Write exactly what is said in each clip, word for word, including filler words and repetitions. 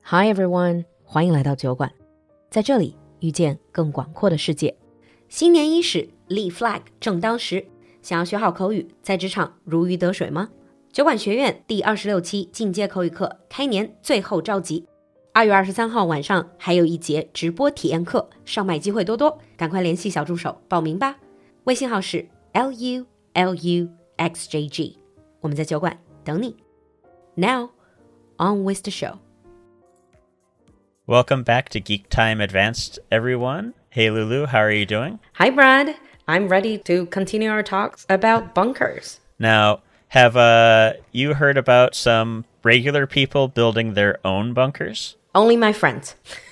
Hi everyone， 欢迎来到酒馆，在这里遇见更广阔的世界。新年伊始，立 flag 正当时。想要学好口语，在职场如鱼得水吗？酒馆学院第二十六期进阶口语课开年最后召集，二月二十三号晚上还有一节直播体验课，上麦机会多多，赶快联系小助手报名吧。微信号是 L U L U X J G， 我们在酒馆等你。Now, on with the show. Welcome back to Geek Time Advanced, everyone. Hey, Lulu, how are you doing? Hi, Brad. I'm ready to continue our talks about bunkers. Now, have uh, you heard about some regular people building their own bunkers? Only my friends.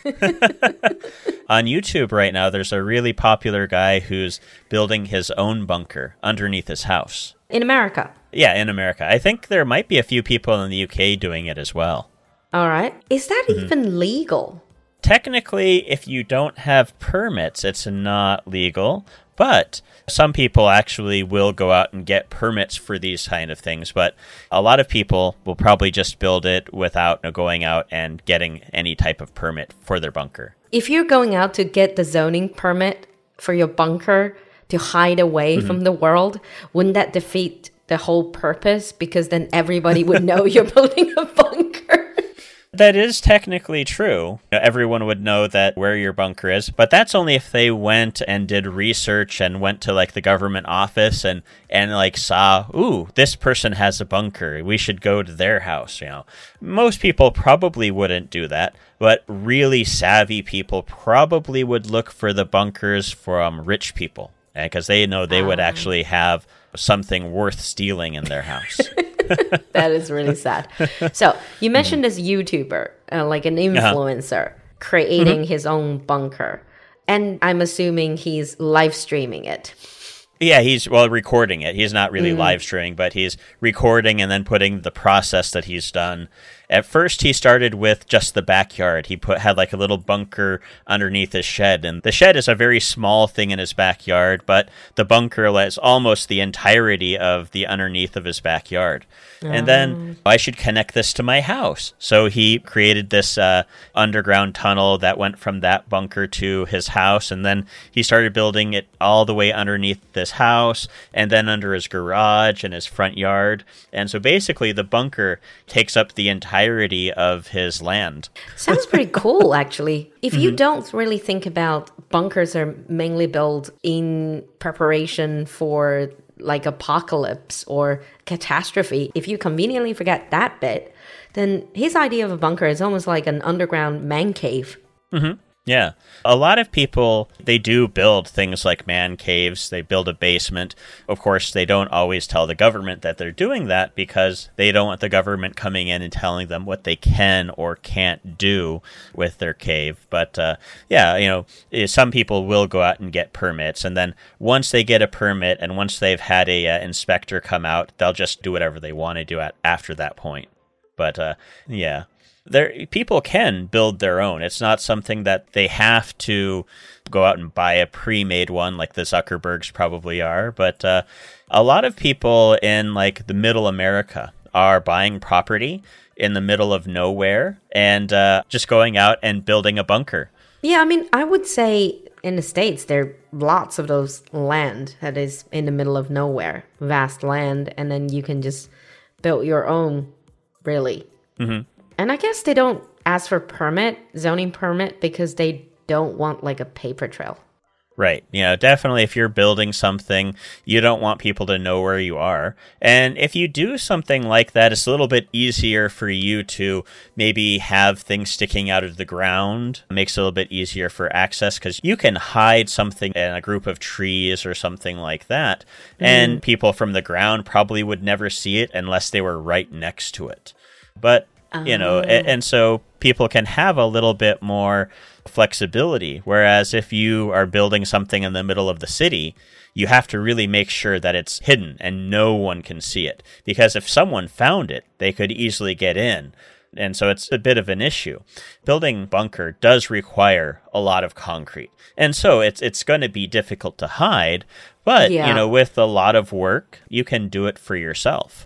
On YouTube right now, there's a really popular guy who's building his own bunker underneath his house. In America? Yeah, in America. I think there might be a few people in the U K doing it as well. All right. Is that mm-hmm. even legal? Technically, if you don't have permits, it's not legal. But some people actually will go out and get permits for these kind of things. But a lot of people will probably just build it without going out and getting any type of permit for their bunker. If you're going out to get the zoning permit for your bunker to hide away mm-hmm. from the world, wouldn't that defeat the whole purpose? Because then everybody would know you're building a bunker. That is technically true. Everyone would know that where your bunker is, but that's only if they went and did research and went to like the government office and, and like saw, ooh, this person has a bunker. We should go to their house, you know. Most people probably wouldn't do that, but really savvy people probably would look for the bunkers from rich people because they know they would actually have something worth stealing in their house. That is really sad. So you mentioned this YouTuber, uh, like an influencer, uh-huh. creating mm-hmm. his own bunker. And I'm assuming he's live streaming it. Yeah, he's, well, recording it. He's not really mm. live streaming, but he's recording and then putting the process that he's done. At first, he started with just the backyard. He put had like a little bunker underneath his shed. And the shed is a very small thing in his backyard, but the bunker is almost the entirety of the underneath of his backyard. Oh. And then I should connect this to my house. So he created this uh, underground tunnel that went from that bunker to his house. And then he started building it all the way underneath this house and then under his garage and his front yard. And so basically the bunker takes up the entire entirety of his land. Sounds pretty cool, actually. If you mm-hmm. don't really think about bunkers are mainly built in preparation for like apocalypse or catastrophe, if you conveniently forget that bit, then his idea of a bunker is almost like an underground man cave. Mm-hmm. Yeah. A lot of people, they do build things like man caves. They build a basement. Of course, they don't always tell the government that they're doing that because they don't want the government coming in and telling them what they can or can't do with their cave. But uh, yeah, you know, some people will go out and get permits. And then once they get a permit and once they've had a uh, inspector come out, they'll just do whatever they want to do at, after that point. But uh, yeah. There, people can build their own. It's not something that they have to go out and buy a pre-made one like the Zuckerbergs probably are. But uh, a lot of people in like the middle America are buying property in the middle of nowhere and uh, just going out and building a bunker. Yeah, I mean, I would say in the States, there are lots of those land that is in the middle of nowhere, vast land, and then you can just build your own, really. Mm-hmm. And I guess they don't ask for permit, zoning permit, because they don't want like a paper trail. Right. You know, definitely if you're building something, you don't want people to know where you are. And if you do something like that, it's a little bit easier for you to maybe have things sticking out of the ground. It makes it a little bit easier for access because you can hide something in a group of trees or something like that. Mm. And people from the ground probably would never see it unless they were right next to it. But You know, and, and so people can have a little bit more flexibility. Whereas if you are building something in the middle of the city, you have to really make sure that it's hidden and no one can see it. Because if someone found it, they could easily get in. And so it's a bit of an issue. Building a bunker does require a lot of concrete. And so it's it's going to be difficult to hide. But, yeah. you know, with a lot of work, you can do it for yourself.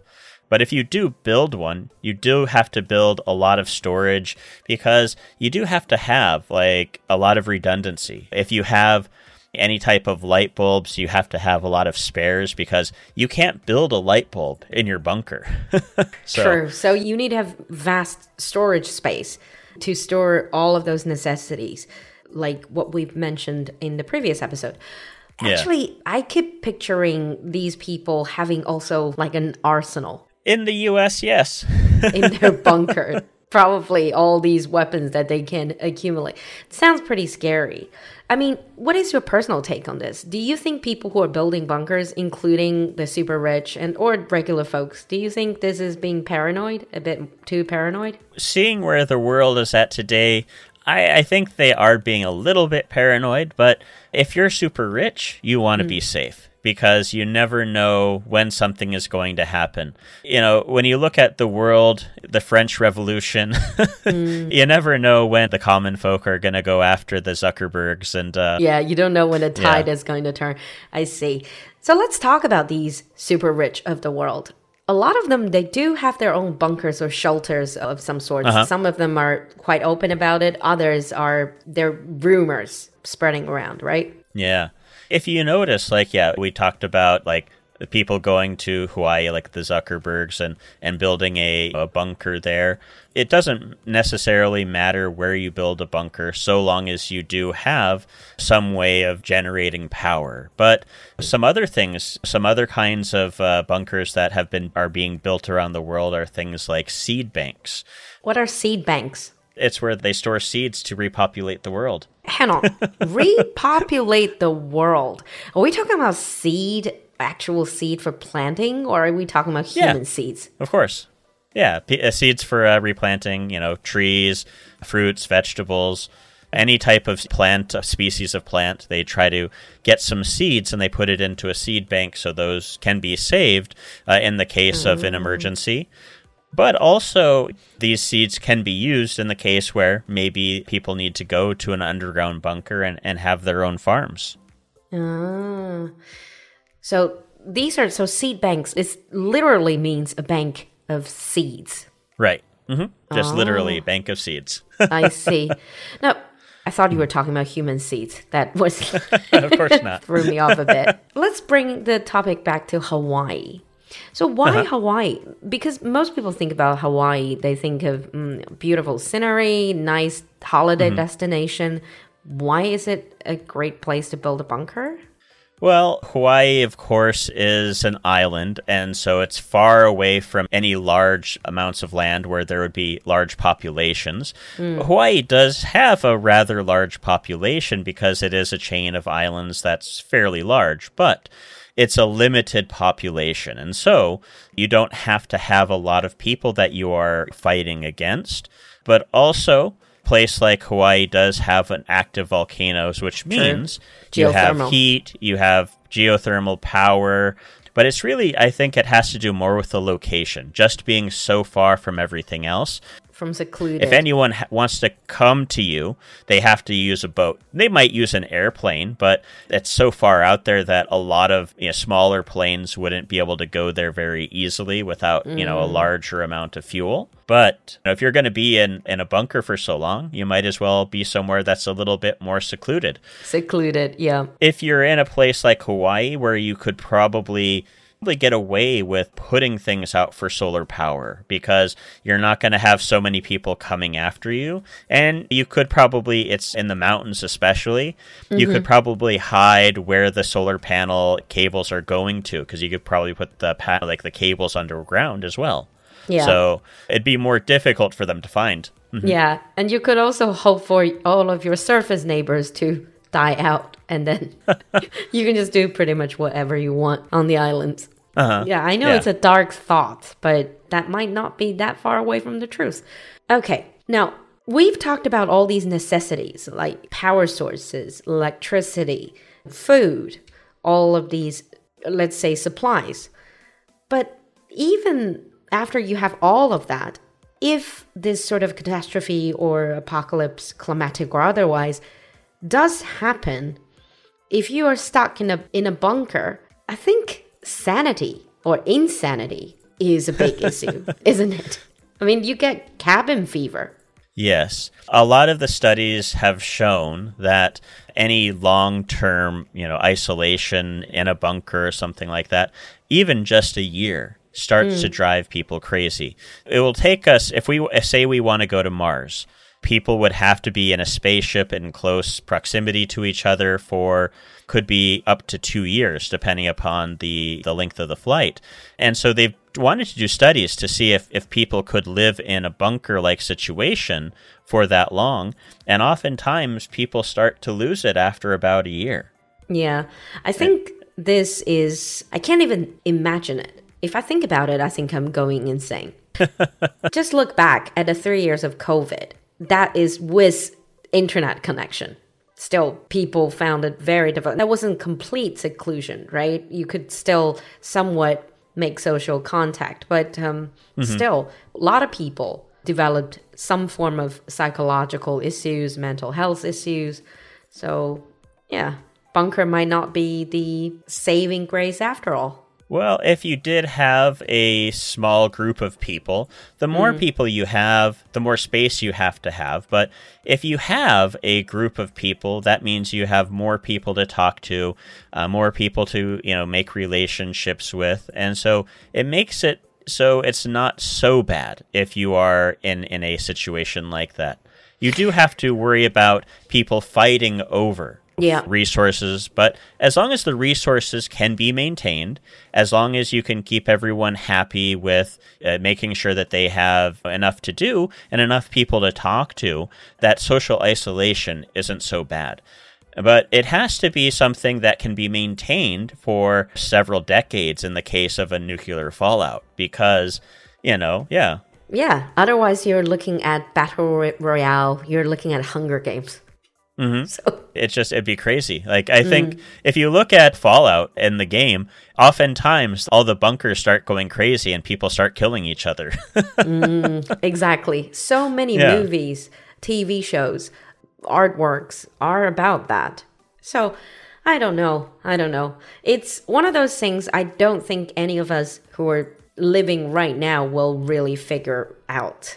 But if you do build one, you do have to build a lot of storage because you do have to have like a lot of redundancy. If you have any type of light bulbs, you have to have a lot of spares because you can't build a light bulb in your bunker. so. True. So you need to have vast storage space to store all of those necessities, like what we've mentioned in the previous episode. Actually, yeah. I keep picturing these people having also like an arsenal. In the U S, yes. in their bunker. Probably all these weapons that they can accumulate. It sounds pretty scary. I mean, what is your personal take on this? Do you think people who are building bunkers, including the super rich and or regular folks, do you think this is being paranoid, a bit too paranoid? Seeing where the world is at today, I, I think they are being a little bit paranoid, but if you're super rich, you want to mm. be safe. Because you never know when something is going to happen. You know, when you look at the world, the French Revolution, mm. you never know when the common folk are going to go after the Zuckerbergs. And uh, yeah, you don't know when the tide yeah. is going to turn. I see. So let's talk about these super rich of the world. A lot of them, they do have their own bunkers or shelters of some sort. Uh-huh. Some of them are quite open about it. Others are, they're rumors spreading around, right? Yeah. If you notice, like, yeah, we talked about, like, the people going to Hawaii, like the Zuckerbergs, and, and building a, a bunker there. It doesn't necessarily matter where you build a bunker, so long as you do have some way of generating power. But some other things, some other kinds of uh, bunkers that have been are being built around the world are things like seed banks. What are seed banks? It's where they store seeds to repopulate the world. Hang on. Repopulate the world. Are we talking about seed, actual seed for planting, or are we talking about human yeah, seeds? Of course. Yeah, P- uh, seeds for uh, replanting, you know, trees, fruits, vegetables, any type of plant, uh, species of plant. They try to get some seeds and they put it into a seed bank so those can be saved uh, in the case mm. of an emergency. But also, these seeds can be used in the case where maybe people need to go to an underground bunker and, and have their own farms. Ah. So these are, so seed banks, it literally means a bank of seeds. Right. Mm-hmm. Just oh. literally a bank of seeds. I see. Now, I thought you were talking about human seeds. That was... Of course not. Threw me off a bit. Let's bring the topic back to Hawaii. So why uh-huh. Hawaii? Because most people think about Hawaii, they think of mm, beautiful scenery, nice holiday mm-hmm. destination. Why is it a great place to build a bunker? Well, Hawaii, of course, is an island, and so it's far away from any large amounts of land where there would be large populations. Mm. Hawaii does have a rather large population because it is a chain of islands that's fairly large, but it's a limited population, and so you don't have to have a lot of people that you are fighting against. But also, a place like Hawaii does have an active volcanoes, which means you have heat, you have geothermal power. But it's really, I think it has to do more with the location, just being so far from everything else. From secluded. If anyone ha- wants to come to you, they have to use a boat. They might use an airplane, but it's so far out there that a lot of you know, smaller planes wouldn't be able to go there very easily without mm. you know a larger amount of fuel. But you know, if you're going to be in, in a bunker for so long, you might as well be somewhere that's a little bit more secluded. Secluded, yeah. If you're in a place like Hawaii where you could probably... get away with putting things out for solar power because you're not going to have so many people coming after you. And you could probably, it's in the mountains especially, mm-hmm. you could probably hide where the solar panel cables are going to because you could probably put the pa- like the cables underground as well. Yeah. So it'd be more difficult for them to find. Mm-hmm. Yeah. And you could also hope for all of your surface neighbors to die out, and then you can just do pretty much whatever you want on the islands. Uh-huh. Yeah, I know yeah. It's a dark thought, but that might not be that far away from the truth. Okay, now we've talked about all these necessities like power sources, electricity, food, all of these, let's say, supplies. But even after you have all of that, if this sort of catastrophe or apocalypse, climatic or otherwise, does happen, if you are stuck in a in a bunker, I think sanity or insanity is a big issue, isn't it? I mean, you get cabin fever. Yes. A lot of the studies have shown that any long-term, you know, isolation in a bunker or something like that, even just a year, starts mm. to drive people crazy. It will take us, if we say we want to go to Mars, people would have to be in a spaceship in close proximity to each other for, could be up to two years, depending upon the, the length of the flight. And so they've wanted to do studies to see if, if people could live in a bunker-like situation for that long. And oftentimes, people start to lose it after about a year. Yeah, I think and, this is, I can't even imagine it. If I think about it, I think I'm going insane. Just look back at the three years of COVID. That is with internet connection. Still, people found it very difficult. That wasn't complete seclusion, right? You could still somewhat make social contact, but um, mm-hmm. still, a lot of people developed some form of psychological issues, mental health issues. So, yeah, bunker might not be the saving grace after all. Well, if you did have a small group of people, the more mm. people you have, the more space you have to have. But if you have a group of people, that means you have more people to talk to, uh, more people to, you know, make relationships with. And so it makes it so it's not so bad if you are in, in a situation like that. You do have to worry about people fighting over Yeah. resources, but as long as the resources can be maintained, as long as you can keep everyone happy with uh, making sure that they have enough to do and enough people to talk to, that social isolation isn't so bad. But it has to be something that can be maintained for several decades in the case of a nuclear fallout, because, you know, yeah. Yeah, otherwise you're looking at Battle Royale, you're looking at Hunger Games. Mm-hmm. So. It's just, it'd be crazy. Like, I think mm. if you look at Fallout in the game, oftentimes all the bunkers start going crazy and people start killing each other. mm, exactly. So many yeah. movies, T V shows, artworks are about that. So I don't know. I don't know. It's one of those things I don't think any of us who are living right now will really figure out.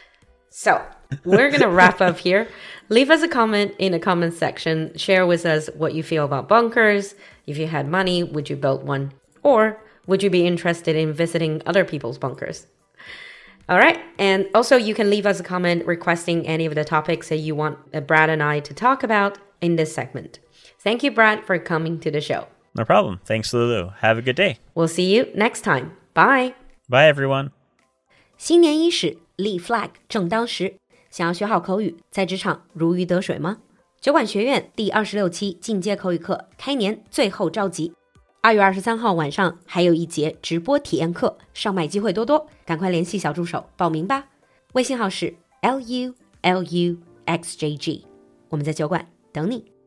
So we're going to wrap up here. Leave us a comment in the comment section. Share with us what you feel about bunkers. If you had money, would you build one? Or would you be interested in visiting other people's bunkers? All right. And also, you can leave us a comment requesting any of the topics that you want Brad and I to talk about in this segment. Thank you, Brad, for coming to the show. No problem. Thanks, Lulu. Have a good day. We'll see you next time. Bye. Bye, everyone. 新年伊始，立 flag 正当时。想要学好口语，在职场如鱼得水吗？酒馆学院第二十六期进阶口语课开年最后召集，二月二十三号晚上还有一节直播体验课，上麦机会多多，赶快联系小助手报名吧。微信号是 L U L U X J G， 我们在酒馆等你。